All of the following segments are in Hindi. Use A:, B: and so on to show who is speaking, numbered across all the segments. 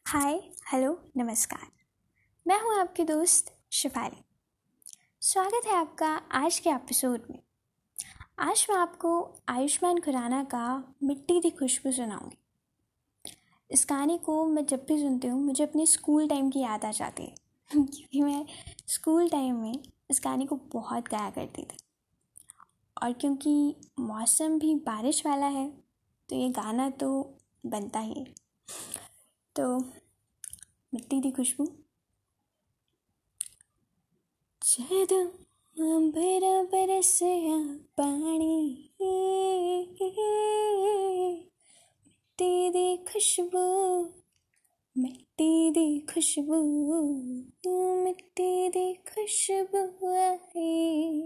A: हाय, हेलो, नमस्कार। मैं हूँ आपकी दोस्त शिफाली। स्वागत है आपका आज के एपिसोड में। आज मैं आपको आयुष्मान खुराना का मिट्टी दी खुशबू सुनाऊंगी। इस गाने को मैं जब भी सुनती हूँ मुझे अपने स्कूल टाइम की याद आ जाती है क्योंकि मैं स्कूल टाइम में इस गाने को बहुत गाया करती थी। और क्योंकि मौसम भी बारिश वाला है तो ये गाना तो बनता ही है। तो मिट्टी दी खुशबू। जदों अंबर बरसिया पानी, मिट्टी दी खुशबू, मिट्टी दी खुशबू, मिट्टी दी खुशबू आई।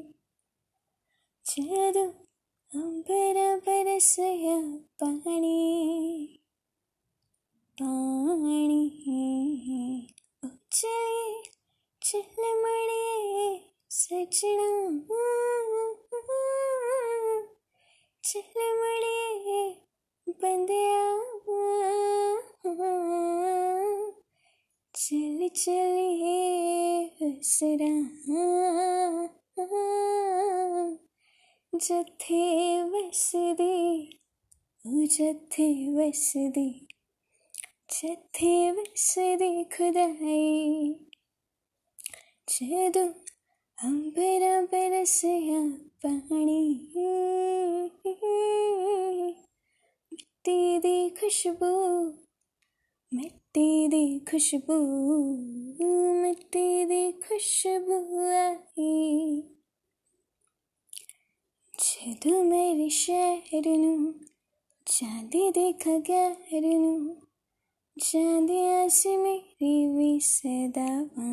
A: जदों अंबर बरसिया पानी, पानी चले चल मड़िए सजना, चल मड़िए बंदिया, चल चलिए हसरा, जथे वसदी, जथे वसदी, जथे वसदी खुदाई। जदों अंबर बरसिया पानी, मिट्टी दी खुशबू, मिट्टी दी खुशबू, मिट्टी दी खुशबू आई। जदों मेरे शहर नूं चांदी देखा गैर नूं, चांदिया से मेरी भी सदावां,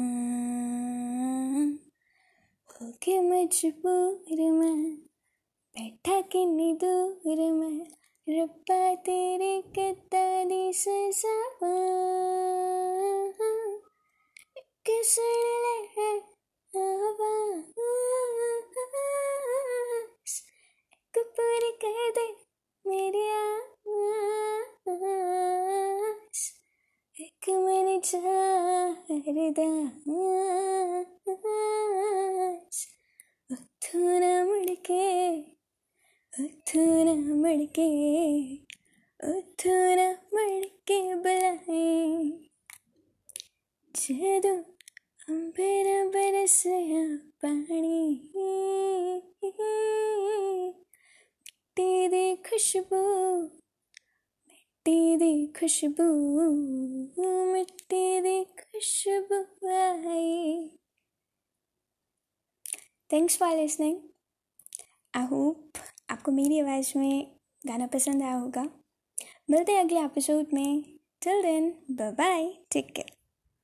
A: होके मजबूर मैं बैठा किन्नी दूर मैं, रब्बा तेरे किता दी सजावां। एक सुन ले आवाज़, एक पूरी कर दे मेरी आस, एक मेरी चारदास। उठू ना मुड़ के, उठू ना मुड़ के, उठू ना मुड़ के बुलाए। जदों अंबर बरसिया पानी, मिट्टी दी खुशबू, मिट्टी दी खुशबू, मिट्टी दी खुशबू आई। Thanks for listening. I hope आपको मेरी आवाज़ में गाना पसंद आया होगा। मिलते हैं अगले एपिसोड में। Till then, bye bye, take care.